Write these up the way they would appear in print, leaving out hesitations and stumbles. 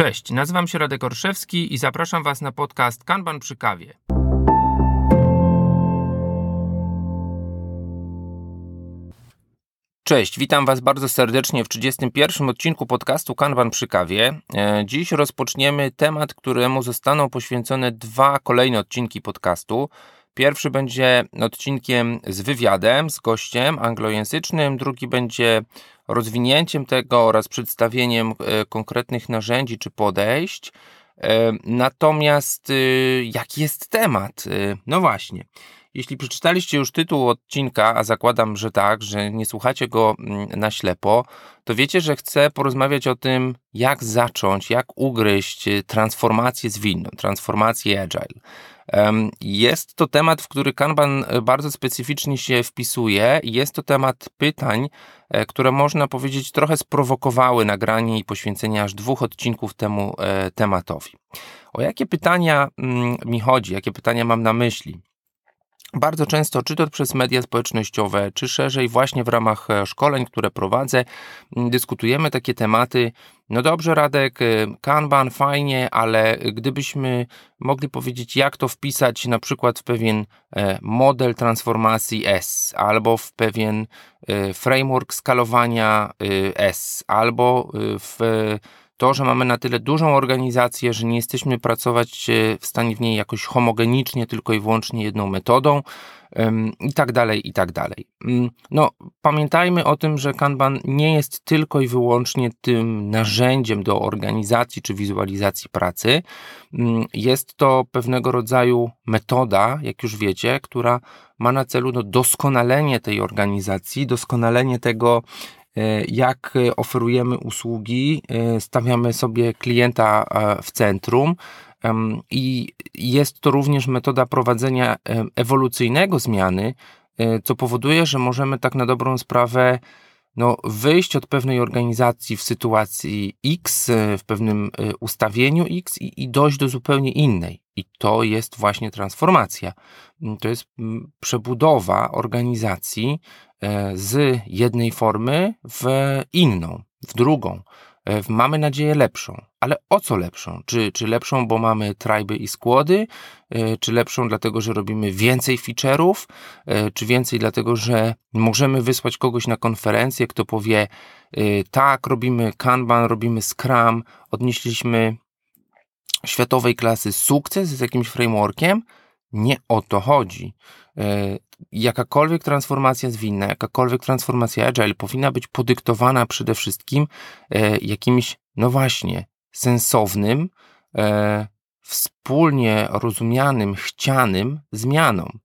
Cześć, nazywam się Radek Orszewski i zapraszam Was na podcast Kanban przy kawie. Cześć, witam Was bardzo serdecznie w 31. odcinku podcastu Kanban przy kawie. Dziś rozpoczniemy temat, któremu zostaną poświęcone 2 kolejne odcinki podcastu. Pierwszy będzie odcinkiem z wywiadem, z gościem anglojęzycznym, drugi będzie rozwinięciem tego oraz przedstawieniem konkretnych narzędzi czy podejść. Natomiast jaki jest temat? No właśnie, jeśli przeczytaliście już tytuł odcinka, a zakładam, że tak, że nie słuchacie go na ślepo, to wiecie, że chcę porozmawiać o tym, jak zacząć, jak ugryźć transformację zwinną, transformację agile. Jest to temat, w który Kanban bardzo specyficznie się wpisuje i jest to temat pytań, które można powiedzieć trochę sprowokowały nagranie i poświęcenie aż 2 odcinków temu tematowi. O jakie pytania mi chodzi, jakie pytania mam na myśli? Bardzo często, czy to przez media społecznościowe, czy szerzej właśnie w ramach szkoleń, które prowadzę, dyskutujemy takie tematy. No dobrze, Radek, Kanban fajnie, ale gdybyśmy mogli powiedzieć, jak to wpisać na przykład w pewien model transformacji S, albo w pewien framework skalowania S, albo w to, że mamy na tyle dużą organizację, że nie jesteśmy pracować w stanie w niej jakoś homogenicznie, tylko i wyłącznie jedną metodą i tak dalej, i tak dalej. No, pamiętajmy o tym, że Kanban nie jest tylko i wyłącznie tym narzędziem do organizacji czy wizualizacji pracy. Jest to pewnego rodzaju metoda, jak już wiecie, która ma na celu doskonalenie tej organizacji, doskonalenie tego, jak oferujemy usługi, stawiamy sobie klienta w centrum i jest to również metoda prowadzenia ewolucyjnego zmiany, co powoduje, że możemy tak na dobrą sprawę wyjść od pewnej organizacji w sytuacji X, w pewnym ustawieniu X i dojść do zupełnie innej. I to jest właśnie transformacja. To jest przebudowa organizacji z jednej formy w inną, w drugą. Mamy nadzieję lepszą. Ale o co lepszą? Czy lepszą, bo mamy tryby i składy? Czy lepszą dlatego, że robimy więcej feature'ów? Czy więcej dlatego, że możemy wysłać kogoś na konferencję, kto powie tak, robimy Kanban, robimy Scrum, odnieśliśmy światowej klasy sukces z jakimś frameworkiem? Nie o to chodzi. Jakakolwiek transformacja zwinna, jakakolwiek transformacja agile powinna być podyktowana przede wszystkim jakimś, sensownym, wspólnie rozumianym, chcianym zmianom.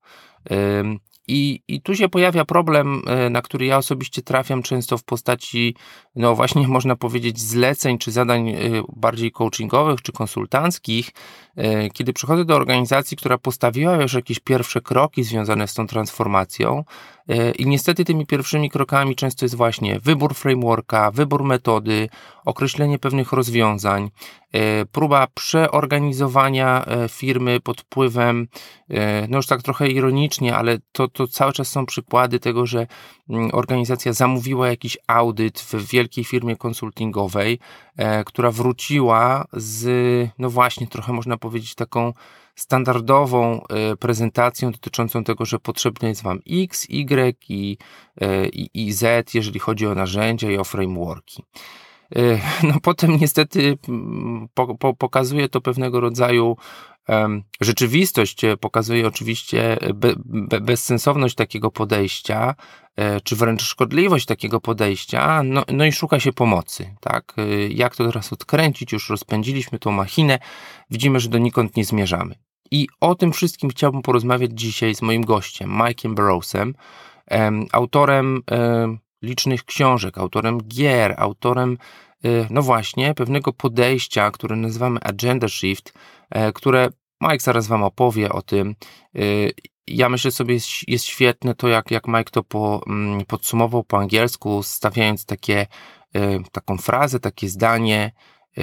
I tu się pojawia problem, na który ja osobiście trafiam często w postaci, właśnie można powiedzieć zleceń czy zadań bardziej coachingowych czy konsultanckich, kiedy przychodzę do organizacji, która postawiła już jakieś pierwsze kroki związane z tą transformacją i niestety tymi pierwszymi krokami często jest właśnie wybór frameworka, wybór metody, określenie pewnych rozwiązań, próba przeorganizowania firmy pod wpływem, już tak trochę ironicznie, ale to cały czas są przykłady tego, że organizacja zamówiła jakiś audyt w wielkiej firmie konsultingowej, która wróciła z, trochę można powiedzieć taką standardową prezentacją dotyczącą tego, że potrzebne jest Wam X, Y i Z, jeżeli chodzi o narzędzia i o frameworki. Potem niestety pokazuje to pewnego rodzaju rzeczywistość, pokazuje oczywiście bezsensowność takiego podejścia, czy wręcz szkodliwość takiego podejścia, i szuka się pomocy, tak? Jak to teraz odkręcić? Już rozpędziliśmy tą machinę, widzimy, że donikąd nie zmierzamy. I o tym wszystkim chciałbym porozmawiać dzisiaj z moim gościem, Mike'iem Burrowsem, autorem licznych książek, autorem gier, autorem pewnego podejścia, które nazywamy Agenda Shift, które Mike zaraz Wam opowie o tym. Ja myślę sobie, jest świetne to, jak Mike to podsumował po angielsku, stawiając taką frazę, takie zdanie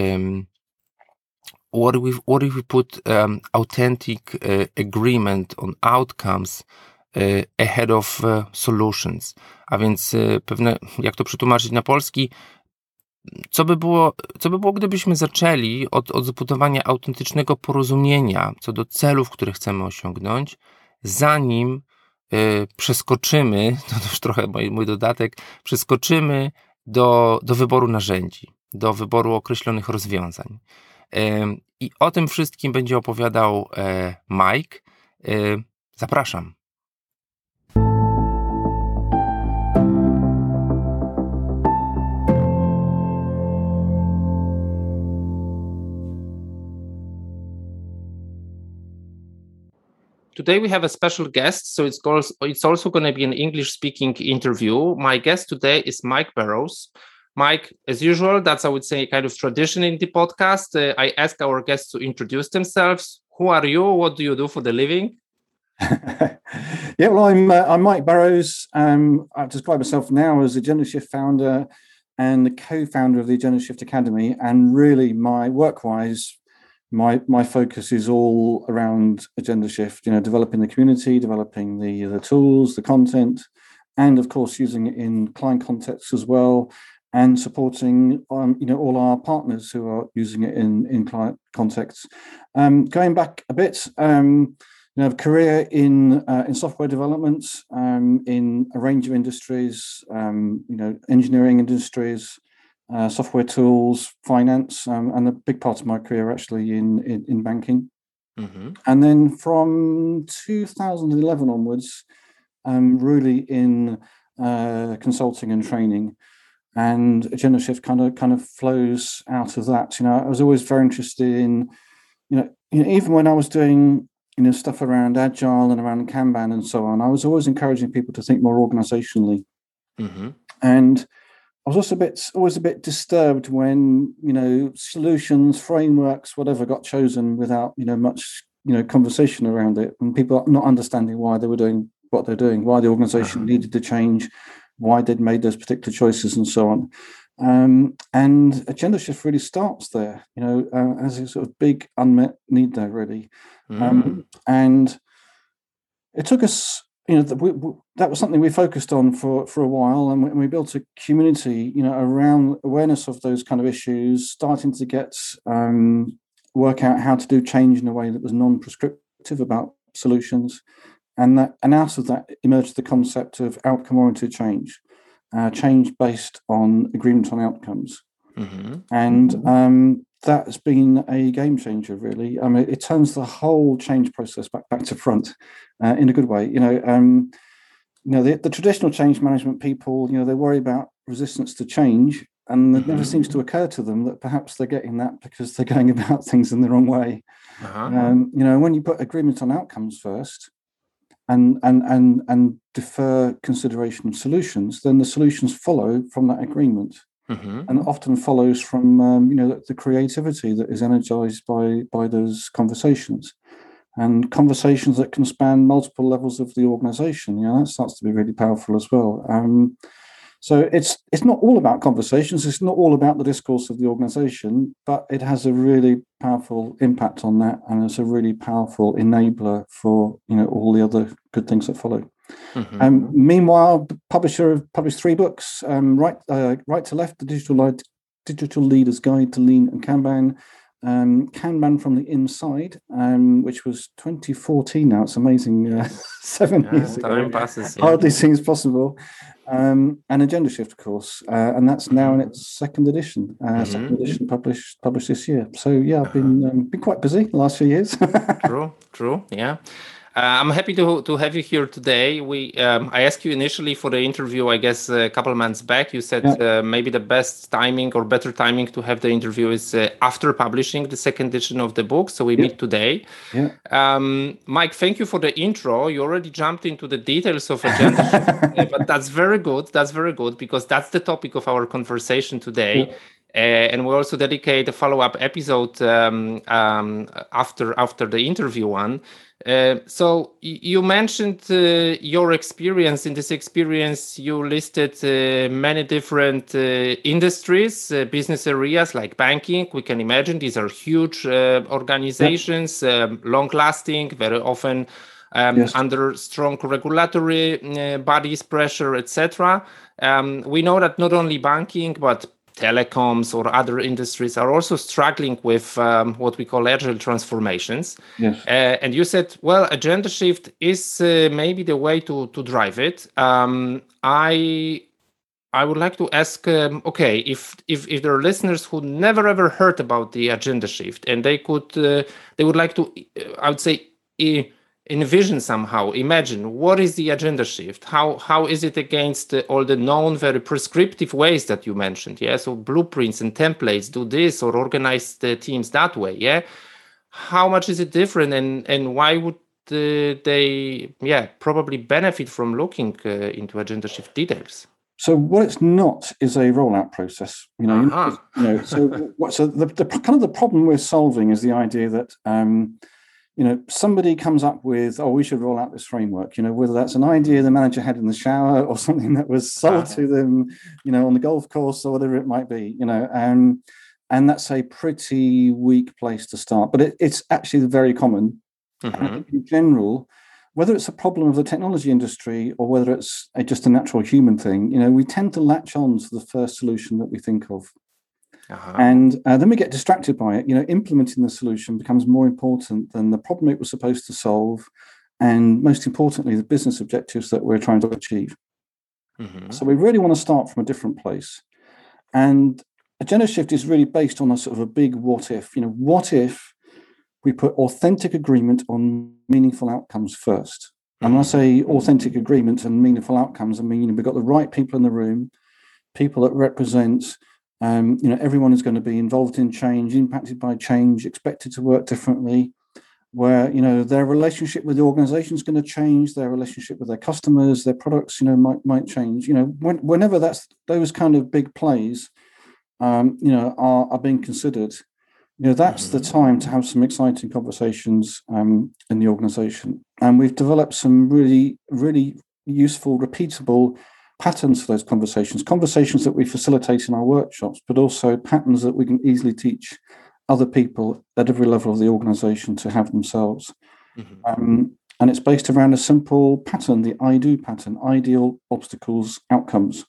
what if we put authentic agreement on outcomes ahead of solutions, a więc jak to przetłumaczyć na polski, Co by było, gdybyśmy zaczęli od zbudowania autentycznego porozumienia co do celów, które chcemy osiągnąć, zanim przeskoczymy, to już trochę mój dodatek, przeskoczymy do wyboru narzędzi, do wyboru określonych rozwiązań. I o tym wszystkim będzie opowiadał Mike. Zapraszam. Today we have a special guest, so it's also going to be an English-speaking interview. My guest today is Mike Barrows. Mike, as usual, that's, I would say, kind of tradition in the podcast. I ask our guests to introduce themselves. Who are you? What do you do for the living? Yeah, well, I'm Mike Barrows. I describe myself now as Agenda Shift founder and the co-founder of the Agenda Shift Academy. And really, my work-wise, my focus is all around Agenda Shift. Developing the community, developing the tools, the content, and of course using it in client contexts as well, and supporting all our partners who are using it in client contexts. Going back a bit, a career in software development, in a range of industries, engineering industries, software tools, finance, and a big part of my career actually in banking. Mm-hmm. And then from 2011 onwards, really in consulting and training. And Agenda Shift kind of flows out of that. I was always very interested in, even when I was doing stuff around Agile and around Kanban and so on, I was always encouraging people to think more organizationally. Mm-hmm. And I was also always a bit disturbed when, solutions, frameworks, whatever got chosen without, much, conversation around it, and people not understanding why they were doing what they're doing, why the organization needed to change, why they'd made those particular choices and so on. And Agenda Shift really starts there, as a sort of big unmet need there, really. And it took us, that was something we focused on for a while, and we built a community, around awareness of those kind of issues, starting to get work out how to do change in a way that was non-prescriptive about solutions, and out of that emerged the concept of outcome-oriented change, change based on agreement on outcomes, and that has been a game changer, really. I mean, it turns the whole change process back to front in a good way. The traditional change management people, they worry about resistance to change, and it never seems to occur to them that perhaps they're getting that because they're going about things in the wrong way. When you put agreement on outcomes first, and defer consideration of solutions, then the solutions follow from that agreement. And often follows from the creativity that is energized by those conversations, and conversations that can span multiple levels of the organization. That starts to be really powerful as well. So it's not all about conversations. It's not all about the discourse of the organization, but it has a really powerful impact on that, and it's a really powerful enabler for all the other good things that follow. Meanwhile, the publisher have published 3 books: Right to Left, the Digital Leader's Guide to Lean and Kanban, Kanban from the Inside, which was 2014 now. It's amazing, 7 years ago. Time passes, Hardly seems possible. And Agenda Shift, of course, and that's now in its second edition. Second edition published this year. So yeah, I've been quite busy the last few years. True, yeah. I'm happy to have you here today. I asked you initially for the interview, I guess a couple of months back. You said maybe the best timing or better timing to have the interview is after publishing the second edition of the book. So we meet today. Mike, thank you for the intro. You already jumped into the details of Agenda Shift, but that's very good. That's very good, because that's the topic of our conversation today. And we also dedicate a follow-up episode after the interview one. So you mentioned your experience. In this experience, you listed many different industries, business areas like banking. We can imagine these are huge organizations, long-lasting, very often under strong regulatory bodies, pressure, etc. We know that not only banking, but telecoms or other industries are also struggling with what we call agile transformations. Yes. And you said, well, agenda shift is maybe the way to drive it. I would like to ask, okay, if there are listeners who never ever heard about the agenda shift, and they would like to, I would say, envision somehow, imagine what is the agenda shift? How is it against all the known, very prescriptive ways that you mentioned? Yeah, so blueprints and templates, do this or organize the teams that way. Yeah, how much is it different, and why would they probably benefit from looking into agenda shift details? So what it's not is a rollout process. So the kind of the problem we're solving is the idea that somebody comes up with, we should roll out this framework. Whether that's an idea the manager had in the shower or something that was sold to them, on the golf course or whatever it might be. And that's a pretty weak place to start. But it's actually very common. Mm-hmm. In general, whether it's a problem of the technology industry or whether it's just a natural human thing, we tend to latch on to the first solution that we think of. Uh-huh. And then we get distracted by it. Implementing the solution becomes more important than the problem it was supposed to solve, and most importantly, the business objectives that we're trying to achieve. Mm-hmm. So we really want to start from a different place. And agenda shift is really based on a sort of a big what if. What if we put authentic agreement on meaningful outcomes first? And when I say authentic agreement and meaningful outcomes, I mean, we've got the right people in the room, people that represent, everyone is going to be involved in change, impacted by change, expected to work differently, where, their relationship with the organization is going to change, their relationship with their customers, their products, might change. Whenever those kind of big plays, are being considered, that's the time to have some exciting conversations in the organization. And we've developed some really, really useful, repeatable patterns for those conversations that we facilitate in our workshops, but also patterns that we can easily teach other people at every level of the organization to have themselves. Mm-hmm. And it's based around a simple pattern, the I-DO pattern, ideal, obstacles, outcomes.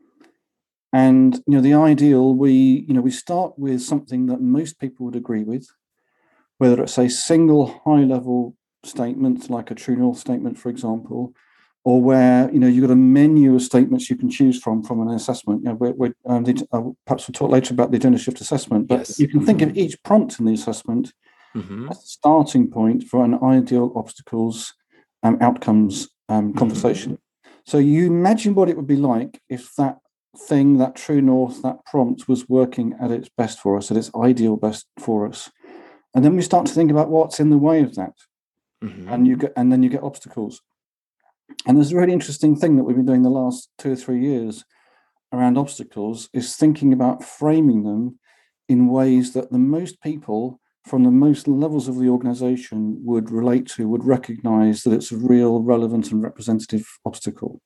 And, the ideal, we start with something that most people would agree with, whether it's a single high-level statement, like a true north statement, for example, or where, you've got a menu of statements you can choose from an assessment. Perhaps we'll talk later about the agenda shift assessment, but yes, you can think of each prompt in the assessment as a starting point for an ideal, obstacles, outcomes conversation. So you imagine what it would be like if that thing, that true north, that prompt was working at its best for us, at its ideal best for us. And then we start to think about what's in the way of that. Mm-hmm. And then you get obstacles. And there's a really interesting thing that we've been doing the last 2 or 3 years around obstacles is thinking about framing them in ways that the most people from the most levels of the organization would relate to, would recognize that it's a real, relevant and representative obstacle.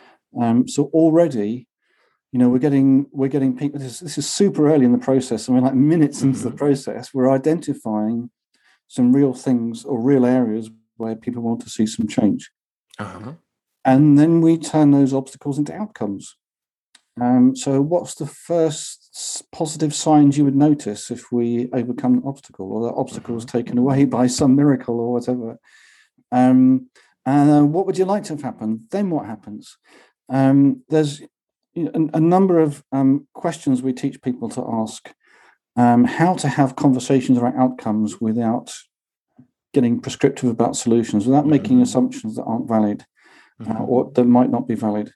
So already, we're getting people. This is super early in the process. I mean, like minutes into the process, we're identifying some real things or real areas where people want to see some change. Uh-huh. And then we turn those obstacles into outcomes. So what's the first positive signs you would notice if we overcome an obstacle, or that obstacle is taken away by some miracle or whatever? And what would you like to have happen? Then what happens? There's a number of questions we teach people to ask, how to have conversations around outcomes without getting prescriptive about solutions, without making assumptions that aren't valid or that might not be valid.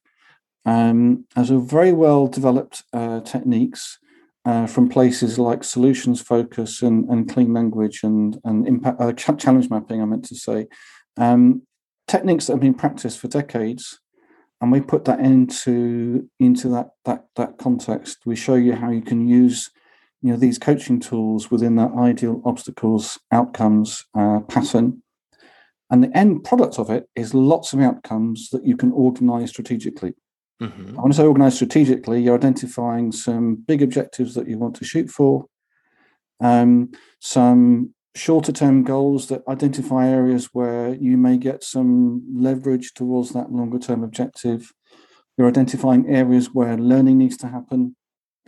As a very well developed techniques from places like solutions focus and clean language and impact challenge mapping, I meant to say, techniques that have been practiced for decades. And we put that into that context. We show you how you can use, these coaching tools within that ideal obstacles outcomes pattern. And the end product of it is lots of outcomes that you can organize strategically. Mm-hmm. I want to say organize strategically, you're identifying some big objectives that you want to shoot for, some shorter term goals that identify areas where you may get some leverage towards that longer term objective. You're identifying areas where learning needs to happen.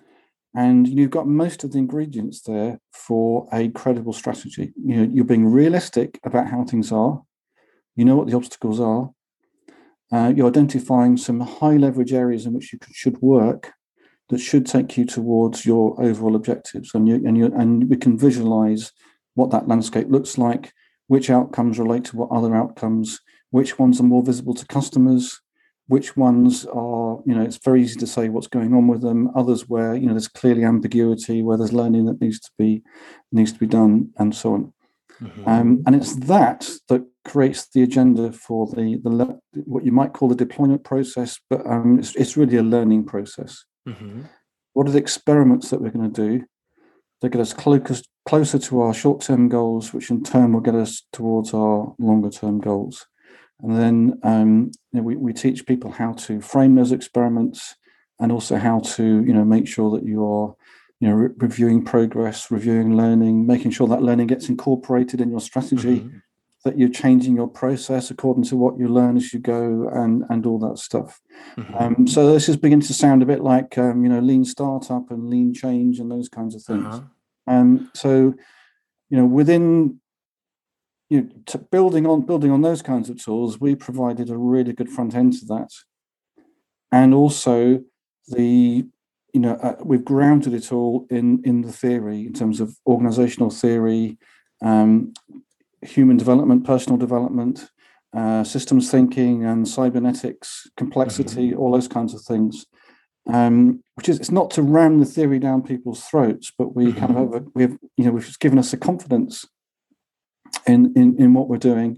And you've got most of the ingredients there for a credible strategy. You're being realistic about how things are. You know what the obstacles are. You're identifying some high leverage areas in which you should work that should take you towards your overall objectives. And we can visualize what that landscape looks like, which outcomes relate to what other outcomes, which ones are more visible to customers, which ones are, it's very easy to say what's going on with them. Others where, there's clearly ambiguity, where there's learning that needs to be done, and so on. Mm-hmm. And it's that creates the agenda for the what you might call the deployment process, but it's really a learning process. Mm-hmm. What are the experiments that we're going to do that get us closer to our short-term goals, which in turn will get us towards our longer-term goals? And then we teach people how to frame those experiments, and also how to make sure that you are reviewing progress, reviewing learning, making sure that learning gets incorporated in your strategy, mm-hmm. that you're changing your process according to what you learn as you go, and all that stuff. Mm-hmm. So this is beginning to sound a bit like lean startup and lean change and those kinds of things. Uh-huh. So within building on those kinds of tools, we provided a really good front end to that, and also we've grounded it all in the theory in terms of organizational theory, human development, personal development, systems thinking, and cybernetics, complexity, mm-hmm. all those kinds of things. Which is, it's not to ram the theory down people's throats, but we mm-hmm. kind of we've given us a confidence in what we're doing.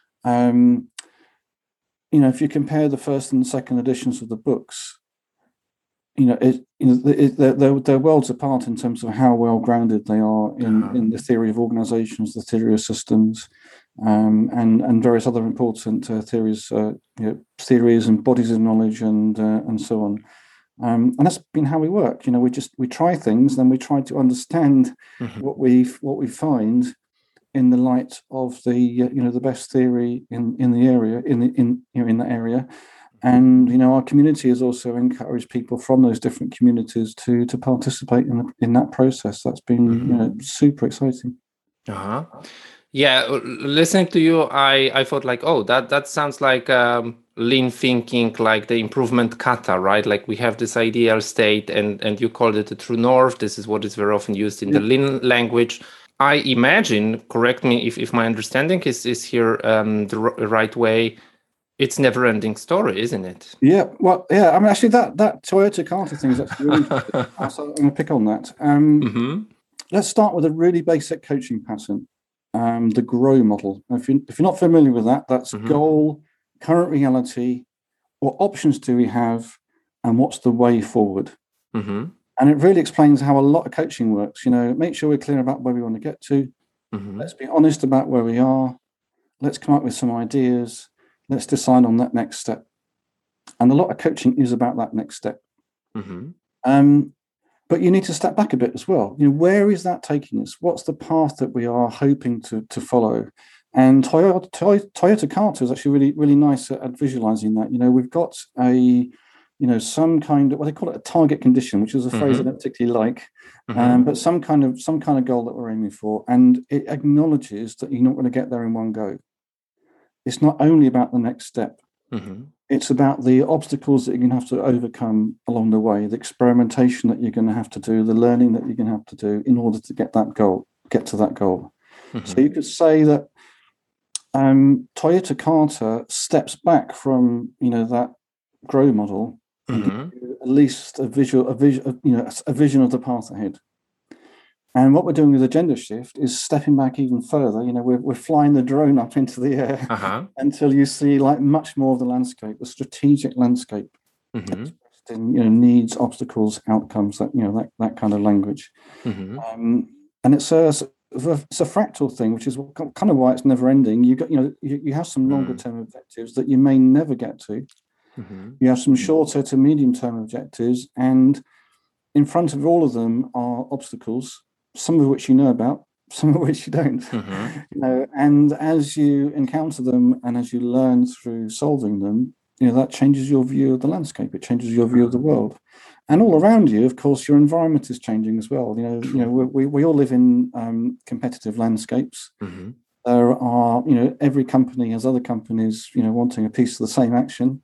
If you compare the first and second editions of the books, they're worlds apart in terms of how well grounded they are in the theory of organizations, the theory of systems, and various other important theories and bodies of knowledge, and so on. And that's been how we work. We try things, then we try to understand mm-hmm. what we find in the light of the best theory in the area, in that area. And our community has also encouraged people from those different communities to participate in that process. That's been mm-hmm. Super exciting. Uh-huh. Yeah, listening to you, I thought like, oh, that sounds like lean thinking, like the improvement kata, right? Like we have this ideal state, and you called it the true north. This is what is very often used in the lean language. I imagine, correct me if my understanding is here the right way, it's never-ending story, isn't it? Yeah, well, yeah. I mean, actually, that Toyota Kata thing is actually really interesting. So I'm going to pick on that. Mm-hmm. Let's start with a really basic coaching pattern, the GROW model. If you're not familiar with that, that's mm-hmm. goal, current reality, what options do we have, and what's the way forward? Mm-hmm. And it really explains how a lot of coaching works. Make sure we're clear about where we want to get to. Mm-hmm. Let's be honest about where we are. Let's come up with some ideas. Let's decide on that next step. And a lot of coaching is about that next step. Mm-hmm. But you need to step back a bit as well. Where is that taking us? What's the path that we are hoping to follow? And Toyota Kata is actually really, really nice at visualizing that. We've got some kind of, what they call it, a target condition, which is a phrase mm-hmm. I don't particularly like, mm-hmm. But some kind of goal that we're aiming for. And it acknowledges that you're not going to get there in one go. It's not only about the next step. Mm-hmm. It's about the obstacles that you're going to have to overcome along the way, the experimentation that you're going to have to do, the learning that you're going to have to do in order to get to that goal. Mm-hmm. So you could say that Toyota Kata steps back from that GROW model, mm-hmm. at least a vision of the path ahead. And what we're doing with Agenda Shift is stepping back even further. We're flying the drone up into the air uh-huh. until you see like much more of the landscape, the strategic landscape, mm-hmm. in needs, obstacles, outcomes, that kind of language. Mm-hmm. And it's a fractal thing, which is kind of why it's never ending. You have some longer term objectives that you may never get to. Mm-hmm. You have some shorter to medium term objectives, and in front of all of them are obstacles, some of which you know about, some of which you don't. Mm-hmm. And as you encounter them and as you learn through solving them, that changes your view of the landscape. It changes your view of the world. And all around you, of course, your environment is changing as well. We all live in competitive landscapes. Mm-hmm. There are, every company has other companies, wanting a piece of the same action.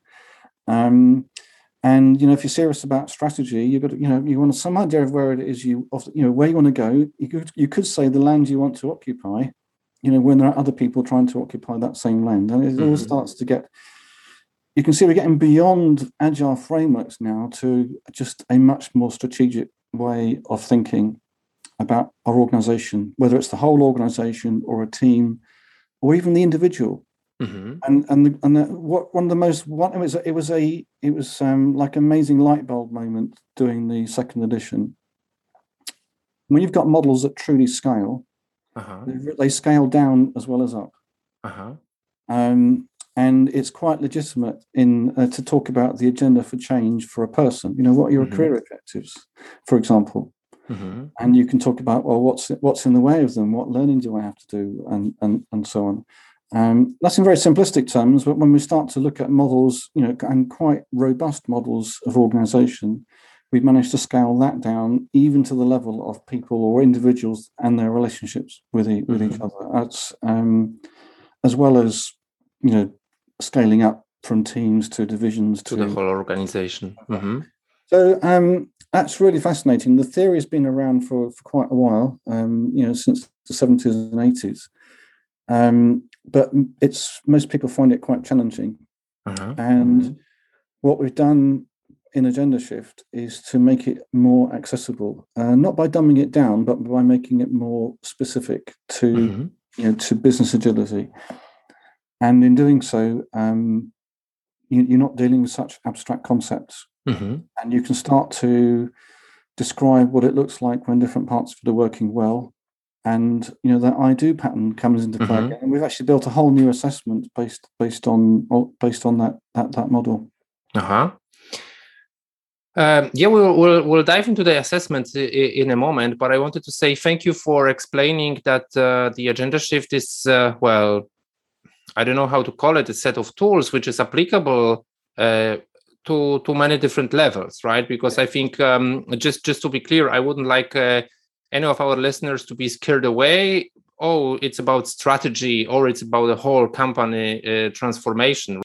And if you're serious about strategy, you've got to, you want some idea of where it is where you want to go. You could say the land you want to occupy, when there are other people trying to occupy that same land, and it all starts to get. You can see we're getting beyond agile frameworks now to just a much more strategic way of thinking about our organization, whether it's the whole organization or a team, or even the individual. It was like an amazing light bulb moment doing the second edition. When you've got models that truly scale, they scale down as well as up. And it's quite legitimate to talk about the agenda for change for a person. What are your career objectives, for example? And you can talk about, well, what's in the way of them? What learning do I have to do, and so on. That's in very simplistic terms, but when we start to look at models, and quite robust models of organization, we've managed to scale that down even to the level of people or individuals and their relationships with each other. That's as well as scaling up from teams to divisions to the whole organization. So that's really fascinating. The theory has been around for quite a while, since the 70s and 80s. But most people find it quite challenging. And what we've done in Agenda Shift is to make it more accessible, not by dumbing it down, but by making it more specific to to business agility. And in doing so, you're not dealing with such abstract concepts, and you can start to describe what it looks like when different parts of it are working well. And that I do pattern comes into play, and we've actually built a whole new assessment based on that model. We'll dive into the assessments in a moment, but I wanted to say thank you for explaining that the Agenda Shift is I don't know how to call it, a set of tools which is applicable to many different levels, right? Because I think just to be clear, I wouldn't like any of our listeners to be scared away. Oh, it's about strategy or it's about the whole company transformation.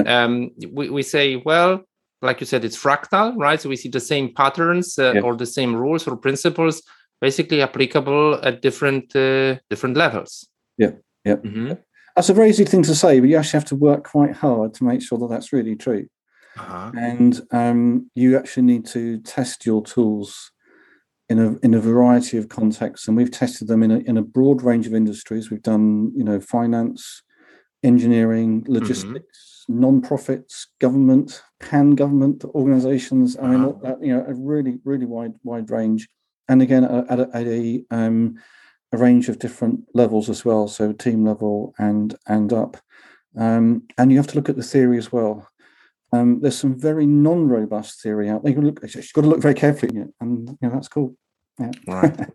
We say, well, like you said, it's fractal, right? So we see the same patterns or the same rules or principles basically applicable at different levels. That's a very easy thing to say, but you actually have to work quite hard to make sure that that's really true. And you actually need to test your tools in a variety of contexts, and we've tested them in a broad range of industries. We've done finance, engineering, logistics, non-profits, government, pan-government organizations. I mean, a really, really wide range, and again at a range of different levels as well, so team level and up. And you have to look at the theory as well. There's some very non-robust theory out there. You've got to look very carefully at it, and that's cool. Right.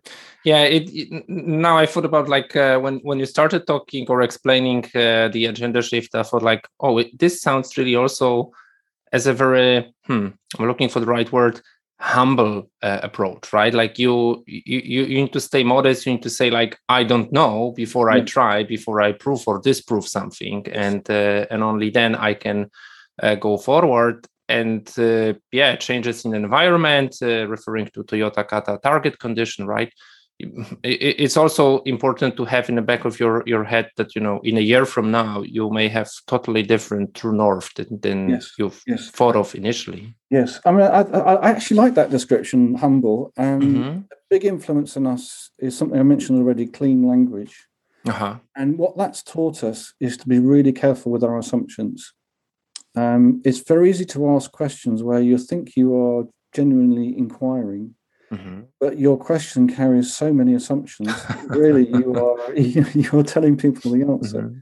Now I thought about when you started talking or explaining the Agenda Shift, I thought this sounds really also as a very I'm looking for the right word, humble approach, right? Like you need to stay modest. You need to say I don't know before I try, before I prove or disprove something, and only then I can go forward. And changes in the environment, referring to Toyota Kata target condition, right? It's also important to have in the back of your head that in a year from now you may have totally different true north than you've thought of initially. Yes, I mean I actually like that description, humble. A big influence on us is something I mentioned already: clean language. And what that's taught us is to be really careful with our assumptions. It's very easy to ask questions where you think you are genuinely inquiring, but your question carries so many assumptions. Really, you're telling people the answer.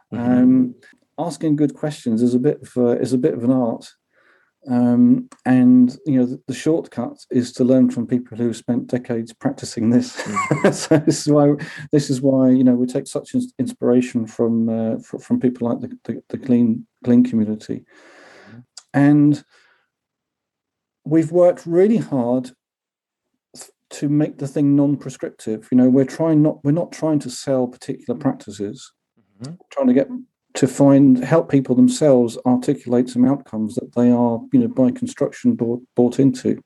Asking good questions is a bit of an art, and the shortcut is to learn from people who have spent decades practicing this. So this is why we take such inspiration from people like the clean community. And we've worked really hard to make the thing non-prescriptive. We're not trying to sell particular practices. Mm-hmm. We're trying to help people themselves articulate some outcomes that they are, by construction bought into.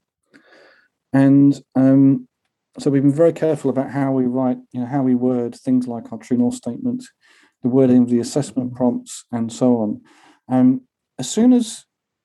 And so we've been very careful about how we write, how we word things like our True North statement, the wording of the assessment prompts, and so on. As soon as,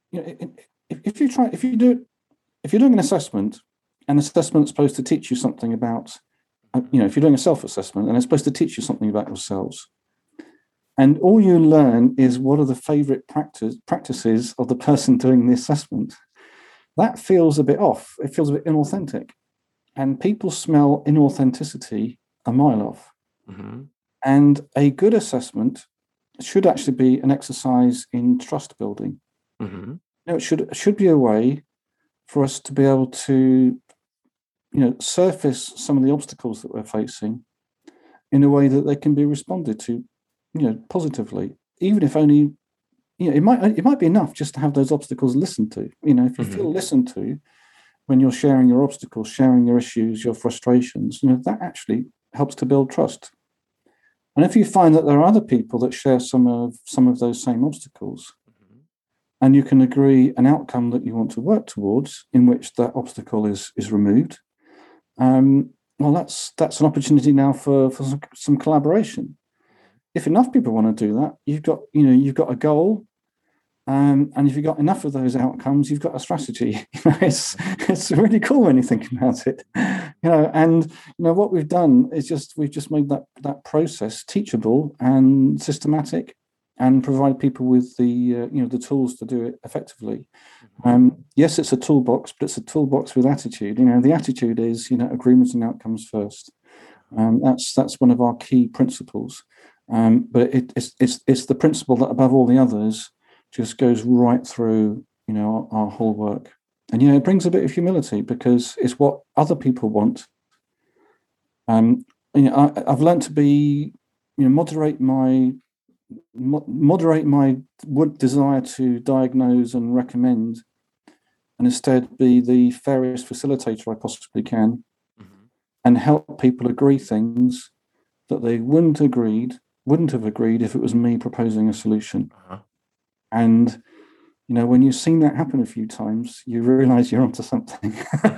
if you're doing an assessment, an assessment's supposed to teach you something about, if you're doing a self-assessment, and it's supposed to teach you something about yourselves. And all you learn is what are the favorite practices of the person doing the assessment. That feels a bit off. It feels a bit inauthentic. And people smell inauthenticity a mile off. Mm-hmm. And a good assessment should actually be an exercise in trust building. Mm-hmm. It should be a way for us to be able to, surface some of the obstacles that we're facing in a way that they can be responded to, positively, even if only, it might be enough just to have those obstacles listened to. If you feel listened to when you're sharing your obstacles, sharing your issues, your frustrations, that actually helps to build trust. And if you find that there are other people that share some of those same obstacles, and you can agree an outcome that you want to work towards in which that obstacle is removed, well, that's an opportunity now for some collaboration. If enough people want to do that, you've got a goal, and if you've got enough of those outcomes, you've got a strategy. It's really cool when you think about it. And what we've done is we've just made that process teachable and systematic, and provide people with the tools to do it effectively. Yes, it's a toolbox, but it's a toolbox with attitude. The attitude is agreements and outcomes first. That's one of our key principles. But it's the principle that above all the others just goes right through our whole work. And it brings a bit of humility because it's what other people want. I've learned to be moderate my desire to diagnose and recommend, and instead be the fairest facilitator I possibly can, and help people agree things that they wouldn't have agreed if it was me proposing a solution. And when you've seen that happen a few times, you realize you're onto something.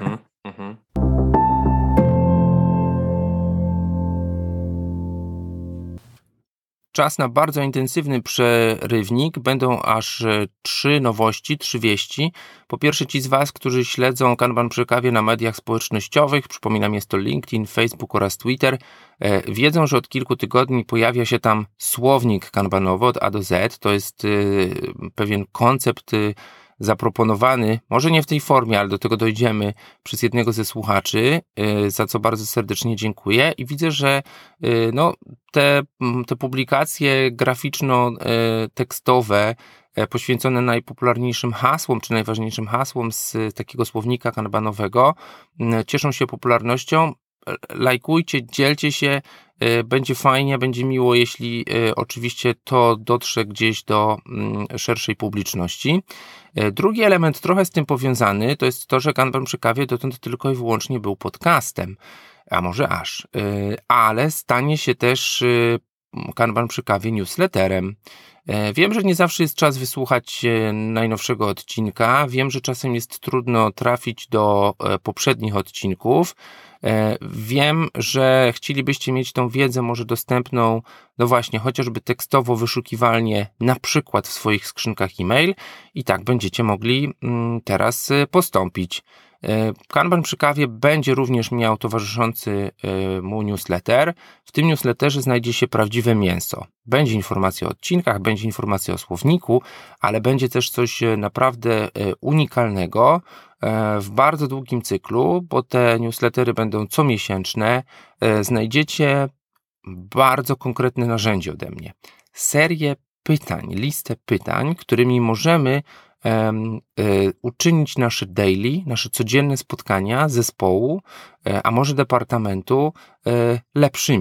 Czas na bardzo intensywny przerywnik. Będą aż 3 nowości, 3 wieści. Po pierwsze, ci z Was, którzy śledzą Kanban przy kawie na mediach społecznościowych, przypominam, jest to LinkedIn, Facebook oraz Twitter, wiedzą, że od kilku tygodni pojawia się tam słownik kanbanowy od A do Z. To jest pewien koncept zaproponowany, może nie w tej formie, ale do tego dojdziemy, przez jednego ze słuchaczy, za co bardzo serdecznie dziękuję. I widzę, że te publikacje graficzno-tekstowe poświęcone najpopularniejszym hasłom, czy najważniejszym hasłom z takiego słownika kanbanowego cieszą się popularnością. Lajkujcie, dzielcie się, będzie fajnie, będzie miło, jeśli oczywiście to dotrze gdzieś do szerszej publiczności. Drugi element trochę z tym powiązany to jest to, że Kanban przy kawie dotąd tylko i wyłącznie był podcastem, a może aż, ale stanie się też Kanban przy kawie newsletterem. Wiem, że nie zawsze jest czas wysłuchać najnowszego odcinka, wiem, że czasem jest trudno trafić do poprzednich odcinków. Wiem, że chcielibyście mieć tą wiedzę może dostępną, właśnie chociażby tekstowo, wyszukiwalnie, na przykład w swoich skrzynkach e-mail i tak będziecie mogli teraz postąpić. Kanban przy kawie będzie również miał towarzyszący mu newsletter. W tym newsletterze znajdzie się prawdziwe mięso. Będzie informacja o odcinkach, będzie informacja o słowniku, ale będzie też coś naprawdę unikalnego w bardzo długim cyklu, bo te newslettery będą comiesięczne. Znajdziecie bardzo konkretne narzędzie ode mnie. Serię pytań, listę pytań, którymi możemy uczynić nasze daily, nasze codzienne spotkania zespołu, a może departamentu lepszymi.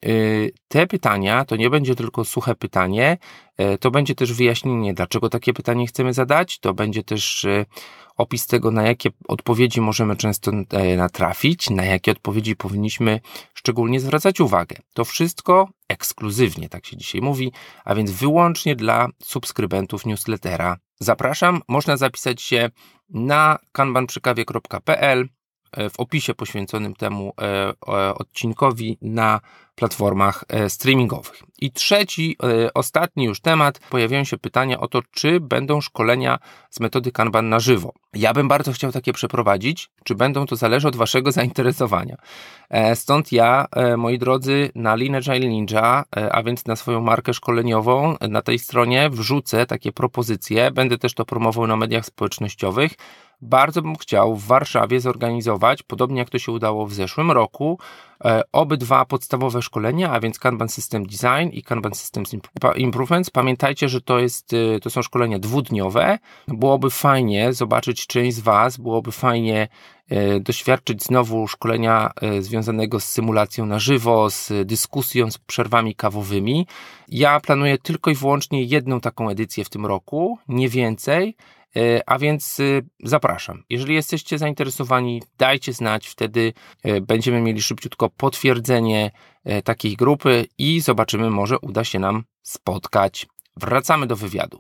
te pytania to nie będzie tylko suche pytanie, to będzie też wyjaśnienie, dlaczego takie pytanie chcemy zadać, to będzie też opis tego, na jakie odpowiedzi możemy często natrafić, na jakie odpowiedzi powinniśmy szczególnie zwracać uwagę. To wszystko ekskluzywnie, tak się dzisiaj mówi, a więc wyłącznie dla subskrybentów newslettera. Zapraszam, można zapisać się na kanbanprzykawie.pl w opisie poświęconym temu odcinkowi na platformach streamingowych. I trzeci, ostatni już temat, pojawiają się pytania o to, czy będą szkolenia z metody Kanban na żywo. Ja bym bardzo chciał takie przeprowadzić, czy będą, to zależy od waszego zainteresowania. Stąd ja, moi drodzy, na Lean Agile Ninja, a więc na swoją markę szkoleniową, na tej stronie wrzucę takie propozycje, będę też to promował na mediach społecznościowych. Bardzo bym chciał w Warszawie zorganizować, podobnie jak to się udało w zeszłym roku, obydwa podstawowe szkolenia, a więc Kanban System Design i Kanban Systems Improvements. Pamiętajcie, że to są szkolenia dwudniowe. Byłoby fajnie zobaczyć część z was, byłoby fajnie doświadczyć znowu szkolenia związanego z symulacją na żywo, z dyskusją, z przerwami kawowymi. Ja planuję tylko i wyłącznie jedną taką edycję w tym roku, nie więcej. A więc zapraszam. Jeżeli jesteście zainteresowani, dajcie znać, wtedy będziemy mieli szybciutko potwierdzenie takiej grupy i zobaczymy, może uda się nam spotkać. Wracamy do wywiadu.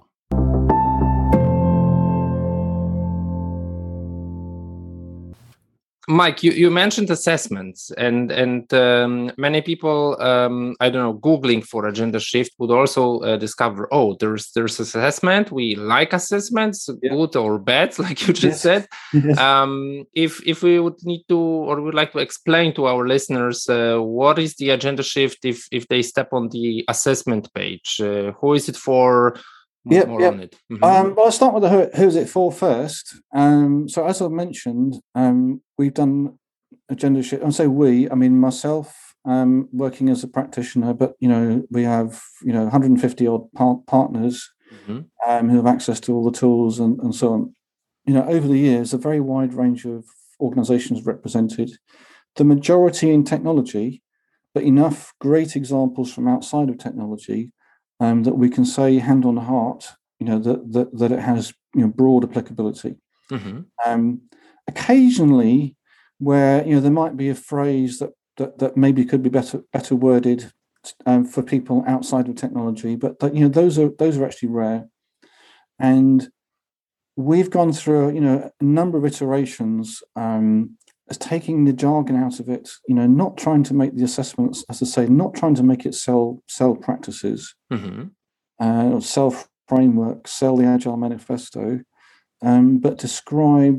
Mike, you mentioned assessments, and many people, I don't know, Googling for agenda shift would also discover, there's assessment. We like assessments, good or bad, like you just said. Yes. If we would need to, or would like to explain to our listeners, what is the agenda shift if they step on the assessment page? Who is it for? More on it. Well, I'll start with the who's it for first. So as I mentioned, we've done agenda shift. And say we, I mean myself, working as a practitioner, but we have 150 odd partners who have access to all the tools and so on. Over the years, a very wide range of organizations represented. The majority in technology, but enough great examples from outside of technology that we can say hand on heart, that it has broad applicability. Occasionally, where there might be a phrase that maybe could be better worded for people outside of technology, but those are actually rare. And we've gone through a number of iterations as taking the jargon out of it, not trying to make the assessments, as I say, not trying to make it sell practices, or sell frameworks, sell the Agile Manifesto, but describe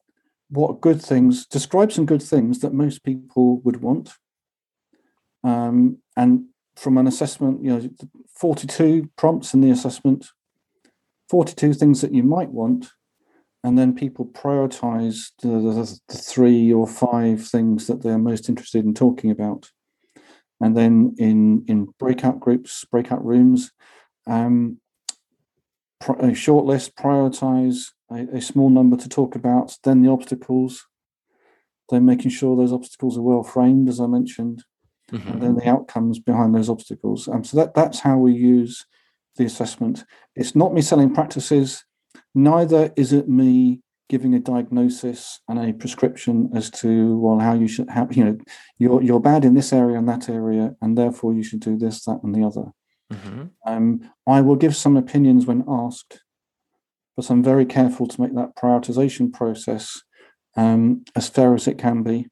some good things that most people would want. And from an assessment, 42 prompts in the assessment, 42 things that you might want. And then people prioritize the 3 or 5 things that they're most interested in talking about. And then in breakout groups, breakout rooms, a short list, prioritize a small number to talk about, then the obstacles, then making sure those obstacles are well framed, as I mentioned, and then the outcomes behind those obstacles. So that's how we use the assessment. It's not me selling practices. Neither is it me giving a diagnosis and a prescription as to how you should you're bad in this area and that area, and therefore you should do this, that, and the other. I will give some opinions when asked, but I'm very careful to make that prioritization process as fair as it can be.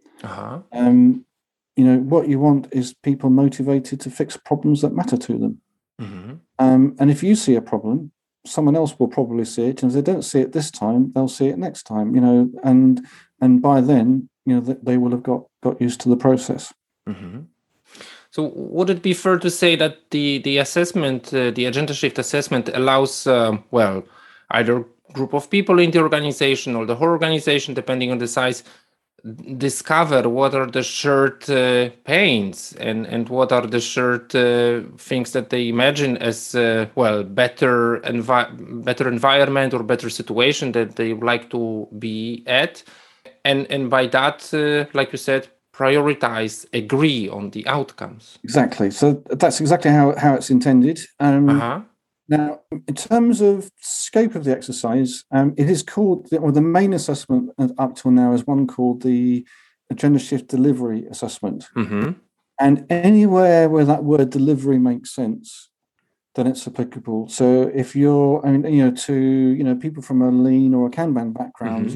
What you want is people motivated to fix problems that matter to them. And if you see a problem, someone else will probably see it, and if they don't see it this time, they'll see it next time. And by then, they will have got used to the process. So would it be fair to say that the assessment, the agenda shift assessment, allows either group of people in the organization or the whole organization, depending on the size, discover what are the shared pains and what are the shared things that they imagine as better environment or better situation that they would like to be at, and by that, like you said, prioritize, agree on the outcomes. Exactly. So that's exactly how it's intended. Now, in terms of scope of the exercise, it is called, the main assessment up till now is one called the Agenda Shift Delivery Assessment. And anywhere where that word delivery makes sense, then it's applicable. So if you're, to people from a lean or a Kanban background,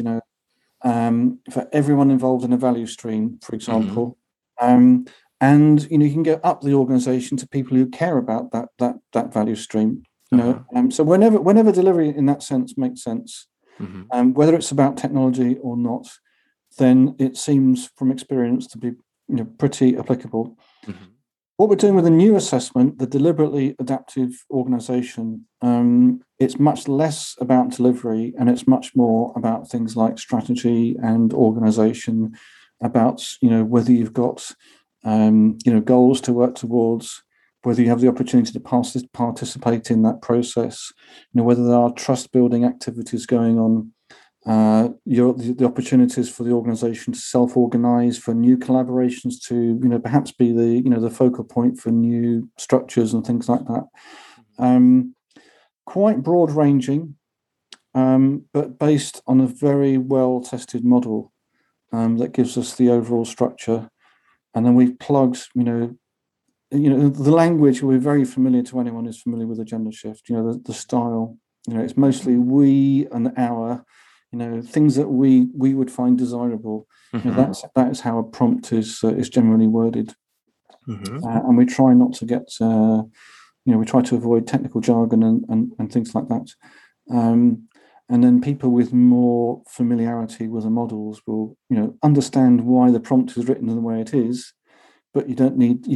for everyone involved in a value stream, for example, and you can go up the organization to people who care about that value stream. So whenever delivery in that sense makes sense, whether it's about technology or not, then it seems from experience to be pretty applicable. What we're doing with the new assessment, the deliberately adaptive organization, it's much less about delivery and it's much more about things like strategy and organization, about whether you've got goals to work towards, whether you have the opportunity to participate in that process, whether there are trust building activities going on, the opportunities for the organization to self-organize, for new collaborations to perhaps be the focal point for new structures and things like that. Quite broad ranging, but based on a very well tested model that gives us the overall structure. And then we've plugged the language will be very familiar to anyone who's familiar with Agenda Shift. The style. It's mostly we and our. Things that we would find desirable. That is how a prompt is generally worded, and we try not to get. We try to avoid technical jargon and things like that. And then people with more familiarity with the models will understand why the prompt is written in the way it is, but you don't need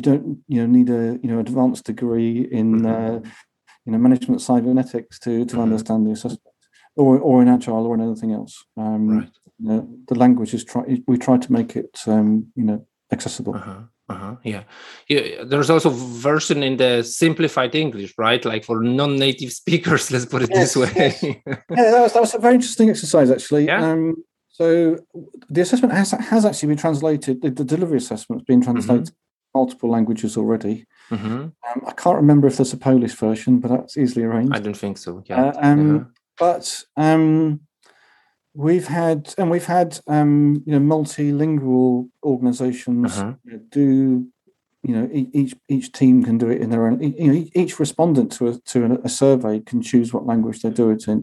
a advanced degree in management cybernetics to understand the assessment. Or in Agile or in anything else. The language we try to make it accessible. Yeah. There's also version in the simplified English, right? Like for non-native speakers, let's put it this way. Yes. That was a very interesting exercise, actually. Yeah. So the assessment has actually been translated. The delivery assessment has been translated in multiple languages already. I can't remember if there's a Polish version, but that's easily arranged. I don't think so. Yeah. But we've had multilingual organizations do. Each team can do it in their own. Each respondent to a survey can choose what language they do it in.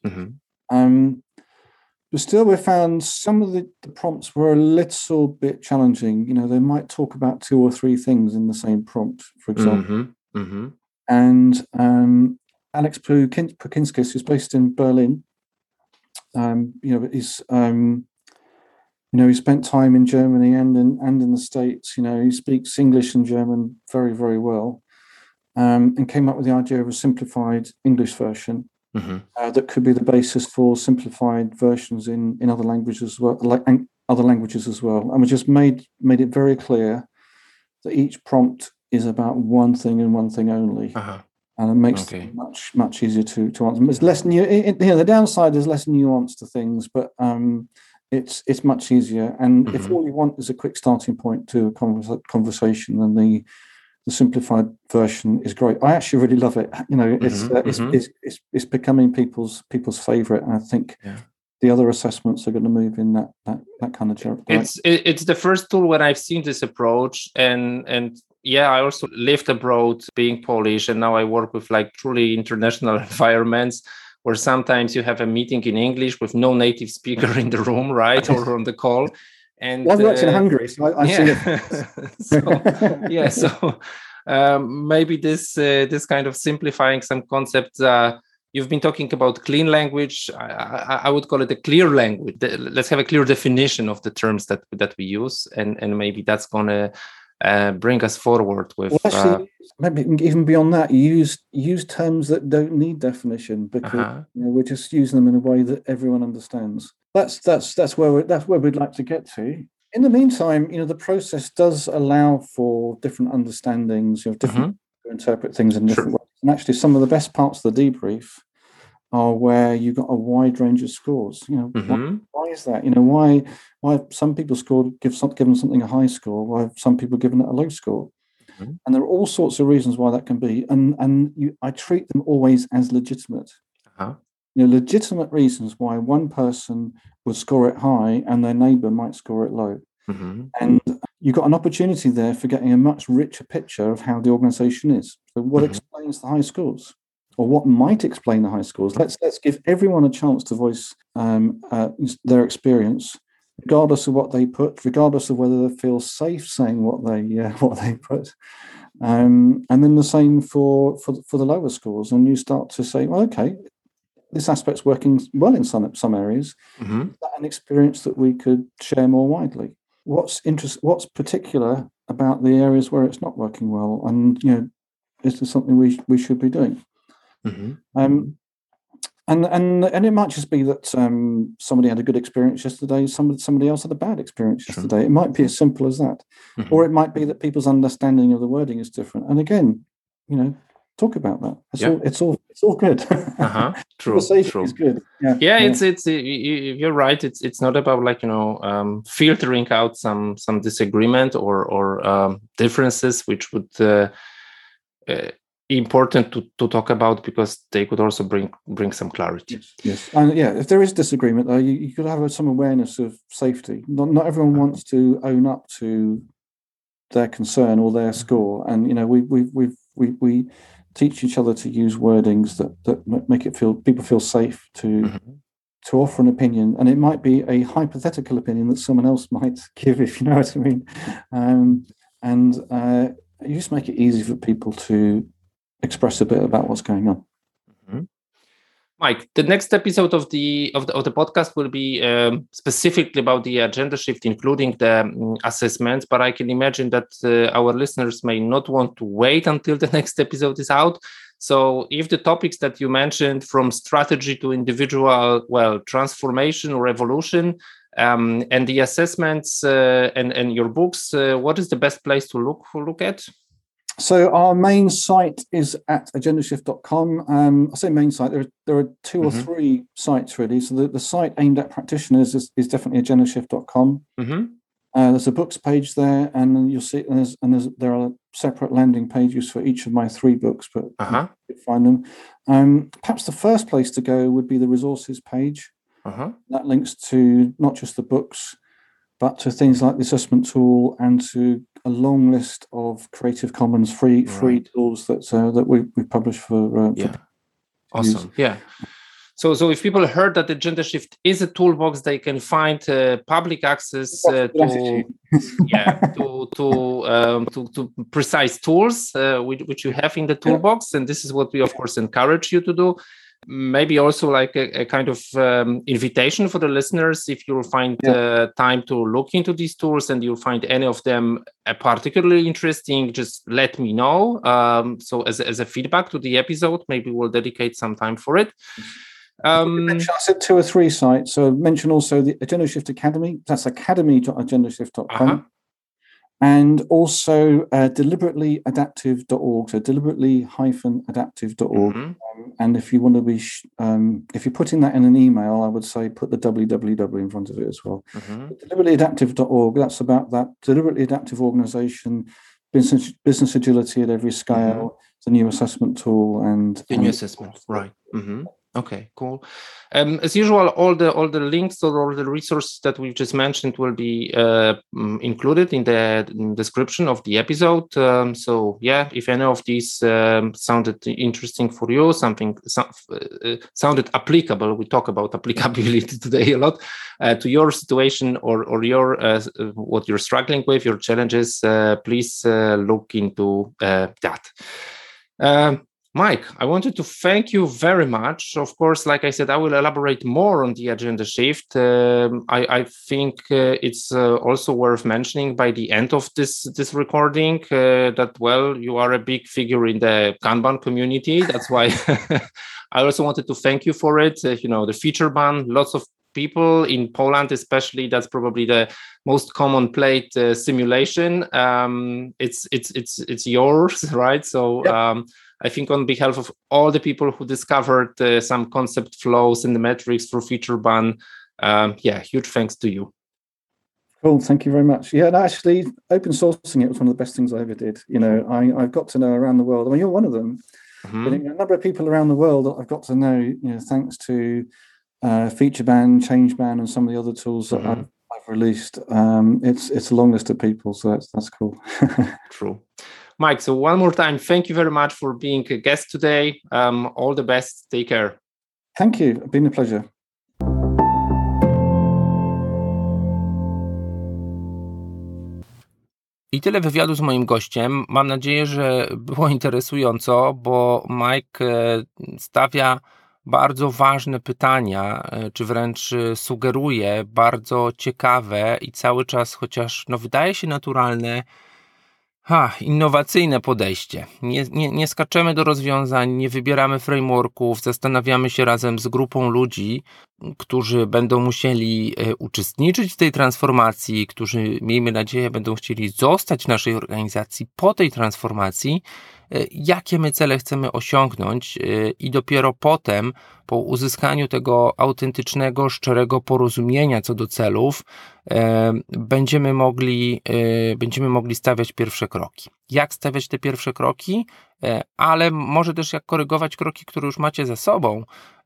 But still, we found some of the prompts were a little bit challenging. They might talk about 2 or 3 things in the same prompt, for example. And Alex Pukinskis, who's based in Berlin, he spent time in Germany and in the States. He speaks English and German very, very well, and came up with the idea of a simplified English version that could be the basis for simplified versions in other languages as well, And we just made it very clear that each prompt is about one thing and one thing only. And it makes it much easier to answer. It's less the downside is less nuance to things, but it's much easier. And if all you want is a quick starting point to a conversation, then the simplified version is great. I actually really love it. It's becoming people's favorite, and I think the other assessments are going to move in that kind of direction. It's the first tool when I've seen this approach, and I also lived abroad being Polish, and now I work with like truly international environments where sometimes you have a meeting in English with no native speaker in the room, right, or on the call. And I've worked in Hungary, so I see it. So maybe this kind of simplifying some concepts. You've been talking about clean language. I would call it a clear language. Let's have a clear definition of the terms that we use, and maybe that's gonna bring us forward with. Well, actually, maybe even beyond that, use terms that don't need definition, because we're just using them in a way that everyone understands. That's where we'd like to get to. In the meantime, the process does allow for different understandings, different to interpret things in different ways. And actually, some of the best parts of the debrief are where you've got a wide range of scores. Why is that? Why have some people given something a high score? Why have some people given it a low score? Mm-hmm. And there are all sorts of reasons why that can be. I treat them always as legitimate. Uh-huh. Legitimate reasons why one person would score it high and their neighbour might score it low. Mm-hmm. And you've got an opportunity there for getting a much richer picture of how the organisation is. So what explains the high scores? Or what might explain the high scores? Let's give everyone a chance to voice their experience, regardless of what they put, regardless of whether they feel safe saying what they put. And then the same for the lower scores. And you start to say, well, okay, this aspect's working well in some areas. Mm-hmm. Is that an experience that we could share more widely? What's particular about the areas where it's not working well? And is there something we should be doing? Mm-hmm. And it might just be that somebody had a good experience yesterday, somebody else had a bad experience yesterday. It might be as simple as that. Mm-hmm. Or it might be that people's understanding of the wording is different. And again, talk about that. It's all good. True. Is good. It's you're right. It's not about filtering out some disagreement or differences which would important to talk about, because they could also bring some clarity. Yes. And if there is disagreement, though, you could have some awareness of safety. Not everyone wants to own up to their concern or their score, and we teach each other to use wordings that make people feel safe to offer an opinion, and it might be a hypothetical opinion that someone else might give, if you know what I mean. And you just make it easy for people to express a bit about what's going on. Mm-hmm. Mike, the next episode of the podcast will be specifically about the agenda shift, including the assessments. But I can imagine that our listeners may not want to wait until the next episode is out. So, if the topics that you mentioned, from strategy to individual, transformation or evolution, and the assessments and your books, what is the best place to look at? So our main site is at agendashift.com. I say main site, there are two or three sites really. So the site aimed at practitioners is definitely agendashift.com. Mm-hmm. There's a books page there, and then you'll see, there are separate landing pages for each of my 3 books, but you can find them. Perhaps the first place to go would be the resources page. That links to not just the books, but to things like the assessment tool and to a long list of Creative Commons free tools that we publish for awesome. Yeah. So if people heard that Agenda Shift is a toolbox, they can find public access to precise tools which you have in the toolbox, and this is what we of course encourage you to do. Maybe also like a kind of invitation for the listeners. If you'll find time to look into these tools and you'll find any of them particularly interesting, just let me know. So as a feedback to the episode, maybe we'll dedicate some time for it. I said 2 or 3 sites. So mention also the Agenda Shift Academy. That's academy.agendashift.com. And also deliberatelyadaptive.org. So deliberately-adaptive.org. And if you want to be, if you're putting that in an email, I would say put the www in front of it as well. Deliberatelyadaptive.org. That's about that deliberately adaptive organization, business agility at every scale, the new assessment tool, and the new assessment. Right. Okay, cool. As usual, all the links or all the resources that we've just mentioned will be included in the description of the episode. So yeah, if any of these sounded interesting for you, sounded applicable, we talk about applicability today a lot, to your situation or your what you're struggling with, your challenges, please look into that. Mike, I wanted to thank you very much. Of course, like I said, I will elaborate more on the agenda shift. I think it's also worth mentioning by the end of this recording that, you are a big figure in the Kanban community. That's why I also wanted to thank you for it. The feature ban, lots of people in Poland, especially, that's probably the most common plate simulation. It's yours, right? So I think on behalf of all the people who discovered some concept flows in the metrics through Featurebun, huge thanks to you. Cool, thank you very much. Yeah, and actually, open sourcing it was one of the best things I ever did. I've got to know around the world. I mean, you're one of them. But a number of people around the world I've got to know, thanks to Featurebun, Changebun, and some of the other tools that I've released. It's a long list of people, so that's cool. True. Mike, so one more time, thank you very much for being a guest today. All the best. Take care. Thank you. It's been a pleasure. I tyle wywiadu z moim gościem. Mam nadzieję, że było interesująco, bo Mike stawia bardzo ważne pytania, czy wręcz sugeruje bardzo ciekawe i cały czas, chociaż wydaje się naturalne, innowacyjne podejście. Nie skaczemy do rozwiązań, nie wybieramy frameworków, zastanawiamy się razem z grupą ludzi, którzy będą musieli uczestniczyć w tej transformacji, którzy, miejmy nadzieję, będą chcieli zostać w naszej organizacji po tej transformacji, jakie my cele chcemy osiągnąć i dopiero potem, po uzyskaniu tego autentycznego, szczerego porozumienia co do celów, będziemy mogli stawiać pierwsze kroki. Jak stawiać te pierwsze kroki, ale może też jak korygować kroki, które już macie za sobą,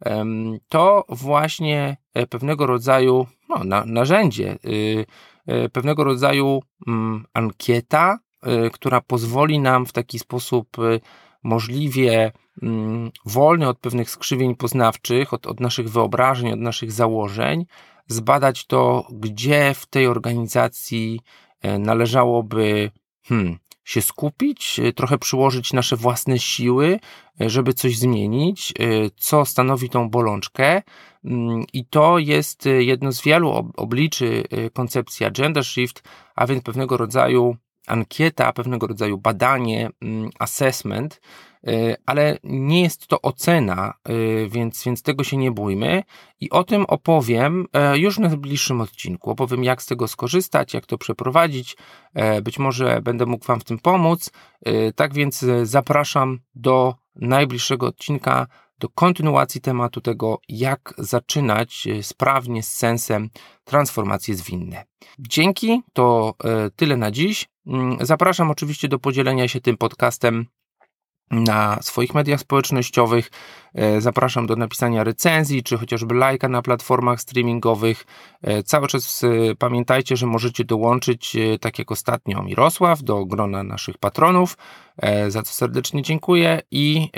to właśnie pewnego rodzaju narzędzie, pewnego rodzaju ankieta, która pozwoli nam w taki sposób możliwie wolny od pewnych skrzywień poznawczych, od naszych wyobrażeń, od naszych założeń, zbadać to, gdzie w tej organizacji należałoby się skupić, trochę przyłożyć nasze własne siły, żeby coś zmienić, co stanowi tą bolączkę. I to jest jedno z wielu obliczy koncepcji Agenda Shift, a więc pewnego rodzaju ankieta, pewnego rodzaju badanie, assessment, ale nie jest to ocena, więc tego się nie bójmy i o tym opowiem już w najbliższym odcinku. Opowiem, jak z tego skorzystać, jak to przeprowadzić, być może będę mógł Wam w tym pomóc, tak więc zapraszam do najbliższego odcinka, do kontynuacji tematu tego, jak zaczynać sprawnie, z sensem transformacje zwinne. Dzięki, to tyle na dziś. Zapraszam oczywiście do podzielenia się tym podcastem na swoich mediach społecznościowych. Zapraszam do napisania recenzji, czy chociażby lajka na platformach streamingowych. Cały czas pamiętajcie, że możecie dołączyć, tak jak ostatnio Mirosław, do grona naszych patronów, za co serdecznie dziękuję i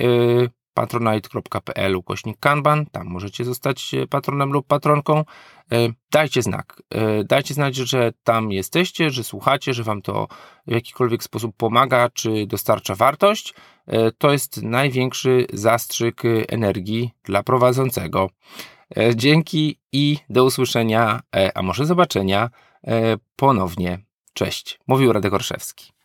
patronite.pl/Kanban, tam możecie zostać patronem lub patronką. Dajcie znak. Dajcie znać, że tam jesteście, że słuchacie, że Wam to w jakikolwiek sposób pomaga, czy dostarcza wartość. To jest największy zastrzyk energii dla prowadzącego. Dzięki i do usłyszenia, a może zobaczenia ponownie. Cześć. Mówił Radek Orszewski.